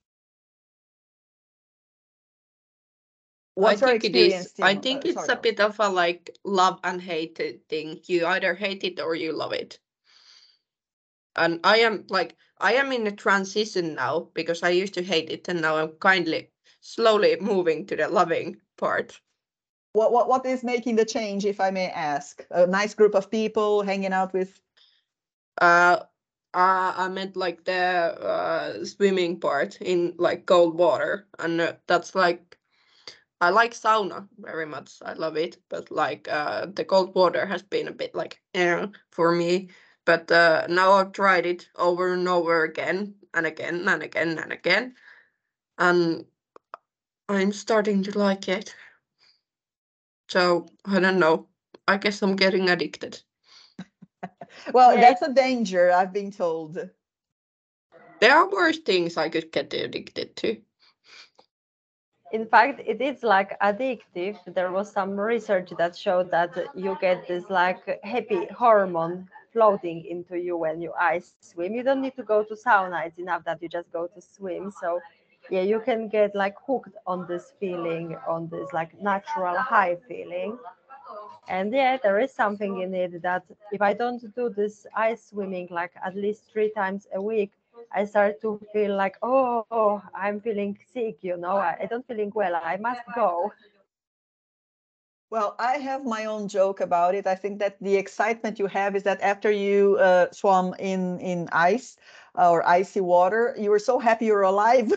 What's I your think it is. experience, I Timo? think Uh, it's sorry, a bit of a like love and hate thing. You either hate it or you love it. And I am like I am in a transition now because I used to hate it and now I'm kindly slowly moving to the loving part. what, what what is making the change, if I may ask? A nice group of people hanging out with. Uh, uh I meant like the uh, swimming part in like cold water, and uh, that's like I like sauna very much. I love it, but like uh, the cold water has been a bit like eh, for me. But uh, now I've tried it over and over again and again and again and again, and I'm starting to like it. So I don't know. I guess I'm getting addicted. Well, Yeah. that's a danger, I've been told. There are worse things I could get addicted to. In fact, it is like addictive. There was some research that showed that you get this like happy hormone floating into you when you ice swim. You don't need to go to sauna. It's enough that you just go to swim. So yeah, you can get like hooked on this feeling, on this like natural high feeling. And yeah, there is something in it that if I don't do this ice swimming like at least three times a week, I start to feel like, oh, oh I'm feeling sick, you know, I, I don't feeling well, I must go. Well, I have my own joke about it. I think that the excitement you have is that after you uh, swam in in ice uh, or icy water, you were so happy you're alive.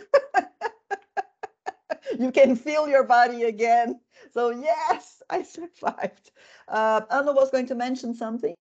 You can feel your body again. So yes, I survived. Uh, Anna was going to mention something.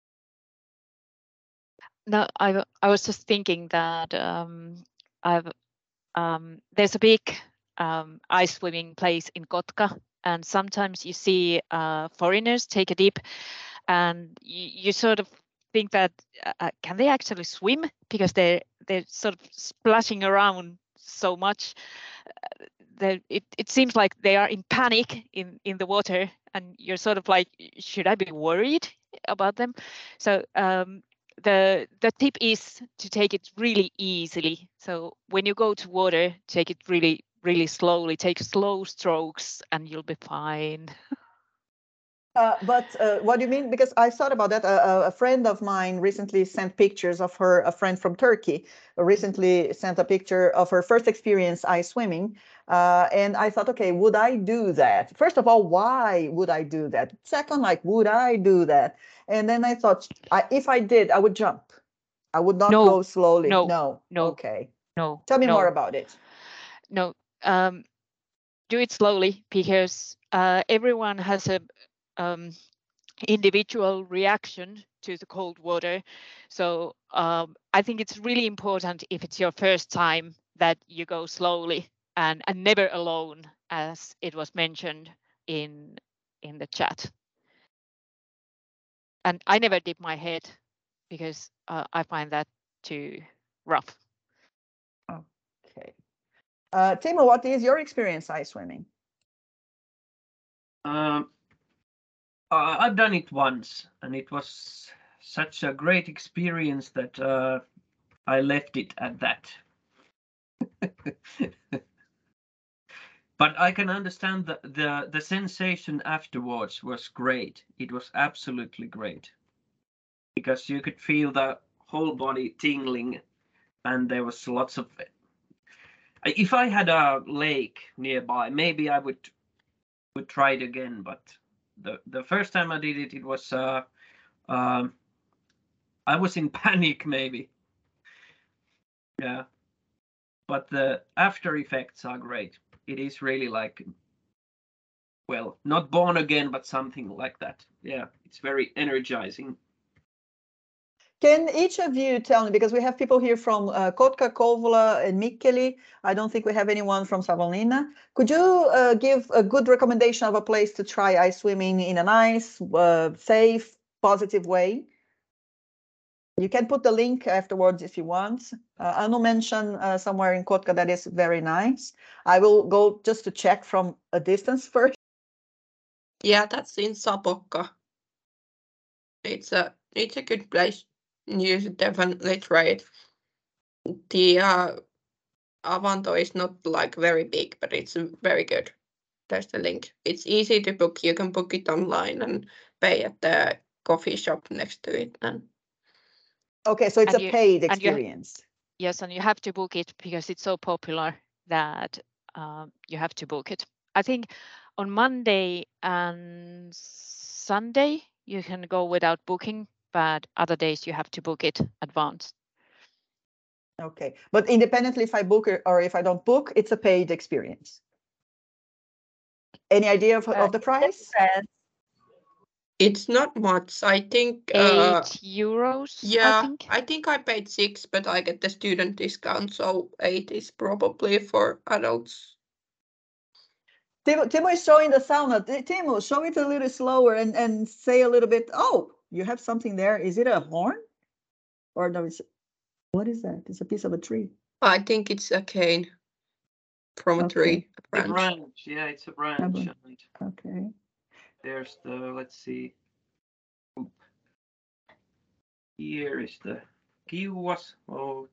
No, I w- I was just thinking that um, I've um, there's a big um, ice swimming place in Kotka, and sometimes you see uh, foreigners take a dip, and you, you sort of think that uh, can they actually swim because they're they're sort of splashing around so much. Uh, that it, it seems like they are in panic in, in the water, and you're sort of like, should I be worried about them? So um, the the tip is to take it really easily. So when you go to water, take it really really slowly. Take slow strokes, and you'll be fine. Uh, but uh, what do you mean? Because I thought about that. Uh, a friend of mine recently sent pictures of her, a friend from Turkey recently sent a picture of her first experience ice swimming. Uh, and I thought, okay, would I do that? First of all, why would I do that? Second, like, would I do that? And then I thought, I, if I did, I would jump. I would not No, go slowly. no, No. no, Okay. no. Tell me no, more about it. No, um, do it slowly because uh, everyone has a um, individual reaction to the cold water. So um, I think it's really important if it's your first time that you go slowly and, and never alone, as it was mentioned in in the chat. And I never dip my head because uh, I find that too rough. Okay. Uh, Timo, what is your experience ice swimming? Um, uh, I've done it once, and it was such a great experience that uh, I left it at that. But I can understand the, the the sensation afterwards was great. It was absolutely great because you could feel the whole body tingling, and there was lots of. If I had a lake nearby, maybe I would would try it again. But the the first time I did it, it was uh, um, I was in panic maybe. Yeah, but the after effects are great. It is really like, well, not born again, but something like that. Yeah, it's very energizing. Can each of you tell me, because we have people here from uh, Kotka, Kouvola, and Mikkeli. I don't think we have anyone from Savonlinna. Could you uh, give a good recommendation of a place to try ice swimming in a nice, uh, safe, positive way? You can put the link afterwards if you want. Uh, Anu mentioned uh, somewhere in Kotka that is very nice. I will go just to check from a distance first. Yeah, that's in Sapokka. It's a it's a good place. You should definitely try it. The uh, Avanto is not like very big, but it's very good. There's the link. It's easy to book. You can book it online and pay at the coffee shop next to it. And Okay, so it's And a you- paid and you- experience. Yes, and you have to book it because it's so popular that um, you have to book it. I think on Monday and Sunday you can go without booking, but other days you have to book it advance. Okay, but independently if I book or- or if I don't book, it's a paid experience. Any idea of, Uh, of the price? depends. it's not much. I think. Eight Uh, euros, yeah, I think. I think I paid six, but I get the student discount, so eight is probably for adults. Timo, Timo is showing the sauna. T- Timo, show it a little slower and, and say a little bit. Oh, you have something there. Is it a horn? Or no, it's, what is that? It's a piece of a tree. I think it's a cane from a Okay. tree. A The branch. branch, yeah, it's a branch. branch. And Okay. there's the, let's see. Oop. Here is the kiuas. Oh,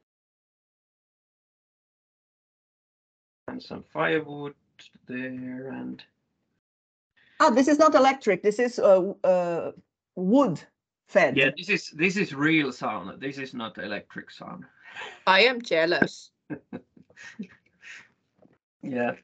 and some firewood there, and Oh, this is not electric. This is uh, uh, wood fed. yeah, this is this is real sauna. This is not electric sauna. I am jealous. Yeah.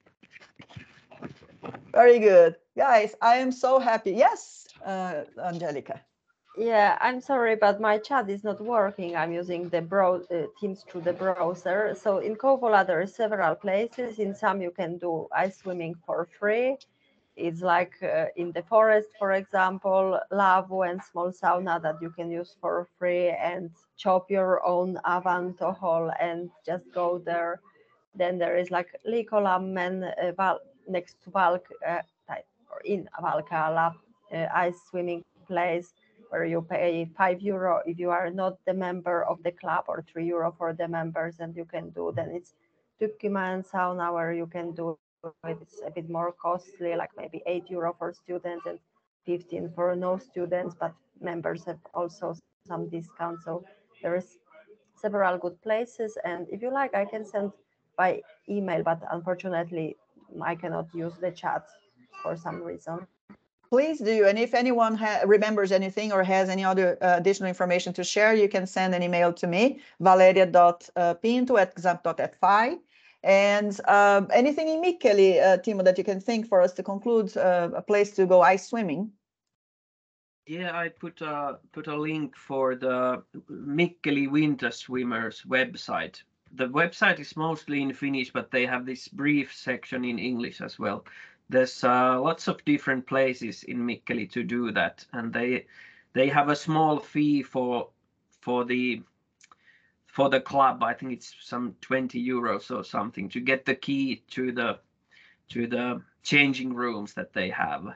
Very good. Guys, I am so happy. Yes, uh, Angelica. Yeah, I'm sorry, but my chat is not working. I'm using the brow uh, Teams through the browser. So in Kouvola, there are several places. In some, you can do ice swimming for free. It's like uh, in the forest, for example, Lavu and small sauna that you can use for free and chop your own Avanto hole and just go there. Then there is like Liikolammen uh, Val- next to Valk, uh, or in Valkeala, uh, ice swimming place where you pay five euro if you are not the member of the club or three euro for the members, and you can do. Then it's Tykkymäen sauna where you can do it. It's a bit more costly, like maybe eight euro for students and fifteen for no students, but members have also some discounts. So there is several good places, and if you like, I can send by email, but unfortunately I cannot use the chat for some reason. please do. And if anyone ha- remembers anything or has any other uh, additional information to share, you can send an email to me, valeria dot pinto at xamp dot f i. And um, anything in Mikkeli, uh, Timo, that you can think for us to conclude, uh, a place to go ice swimming? Yeah, I put a put a link for the Mikkeli Winter Swimmers website. The website is mostly in Finnish, but they have this brief section in English as well. There's uh, lots of different places in Mikkeli to do that, and they they have a small fee for for the for the club. I think it's some twenty euros or something to get the key to the to the changing rooms that they have.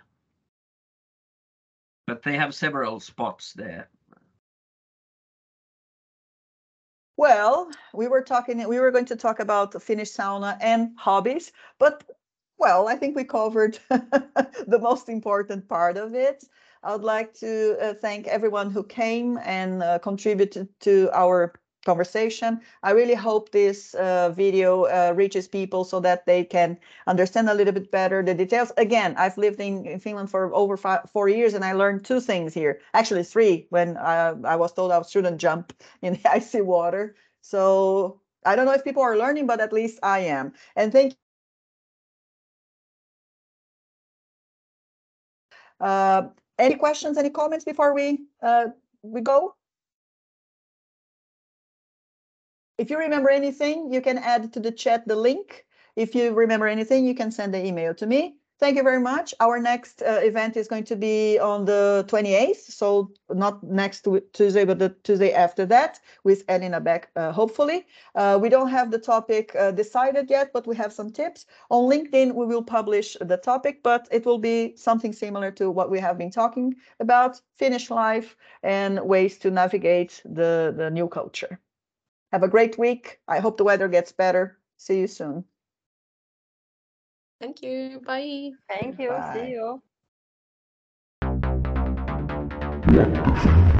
But they have several spots there. Well, we were talking, we were going to talk about the Finnish sauna and hobbies, but well, I think we covered the most important part of it. I would like to uh, thank everyone who came and uh, contributed to our conversation. I really hope this uh, video uh, reaches people so that they can understand a little bit better the details. Again, I've lived in, in Finland for over five, four years, and I learned two things here. Actually, three, when uh, I was told I shouldn't jump in the icy water. So I don't know if people are learning, but at least I am. And thank you. Uh, any questions, any comments before we uh, we go? If you remember anything, you can add to the chat the link. If you remember anything, you can send the email to me. Thank you very much. Our next uh, event is going to be on the twenty-eighth, so not next Tuesday, but the Tuesday after that, with Elina Beck, uh, hopefully. Uh, we don't have the topic uh, decided yet, but we have some tips. On LinkedIn, we will publish the topic, but it will be something similar to what we have been talking about, Finnish life and ways to navigate the, the new culture. Have a great week. I hope the weather gets better. See you soon. Thank you. Bye. Thank you. Bye. See you.